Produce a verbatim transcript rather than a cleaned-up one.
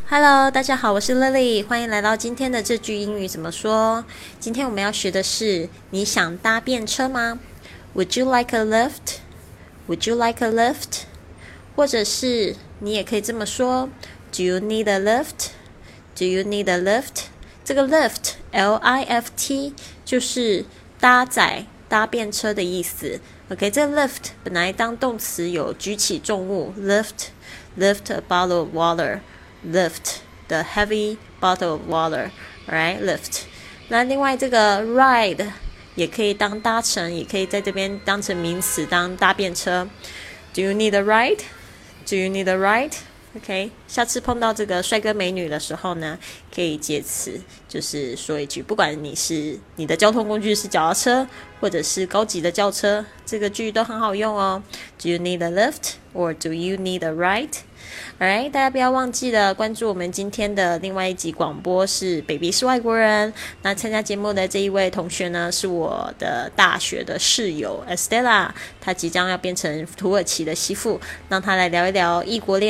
Hello，大家好，我是 Lily， 欢迎来到今天的这句英语怎么说。今天我们要学的是，你想搭便车吗？ Would you like a lift? Would you like a lift? 或者是你也可以这么说 Do you need a lift? Do you need a lift? 这个 lift, L I F T 就是搭载搭便车的意思。 OK， 这个 lift 本来当动词有举起重物 lift, lift a bottle of water lift the heavy bottle of water, right? Lift. 那另外这个 ride 也可以当搭乘，也可以在这边当成名词当搭便车。Do you need a ride? Do you need a ride? OK， 下次碰到这个帅哥美女的时候呢，可以借此就是说一句，不管你是你的交通工具是脚踏车或者是高级的轿车，这个句都很好用哦。Do you need a lift or do you need a ride?Alright， 大家不要忘记了关注我们今天的另外一集广播是 Baby 是外国人。那参加节目的这一位同学呢，是我的大学的室友 Estella， 她即将要变成土耳其的媳妇，让她来聊一聊异国恋